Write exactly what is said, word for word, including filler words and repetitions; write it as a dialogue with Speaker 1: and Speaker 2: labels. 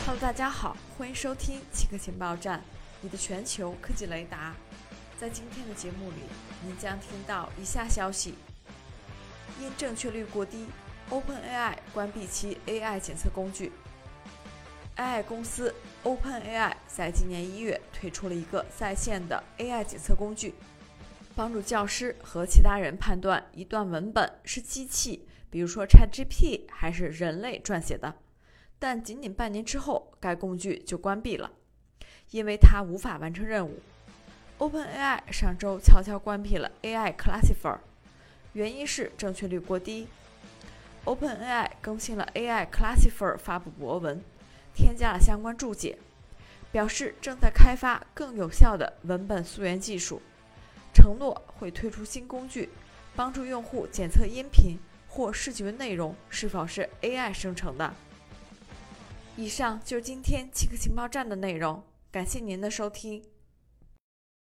Speaker 1: Hello， 大家好，欢迎收听奇科情报站，你的全球科技雷达。在今天的节目里，您将听到以下消息：因正确率过低 ，OpenAI 关闭其 A I 检测工具。A I 公司 OpenAI 在今年一月推出了一个在线的 A I 检测工具，帮助教师和其他人判断一段文本是机器，比如说 ChatGPT 还是人类撰写的。但仅仅半年之后，该工具就关闭了，因为它无法完成任务。OpenAI 上周悄悄关闭了 A I Classifier， 原因是正确率过低。OpenAI 更新了 A I Classifier 发布博文，添加了相关注解，表示正在开发更有效的文本溯源技术，承诺会推出新工具，帮助用户检测音频或视觉内容是否是 A I 生成的。以上就是今天奇科情报站的内容，感谢您的收听。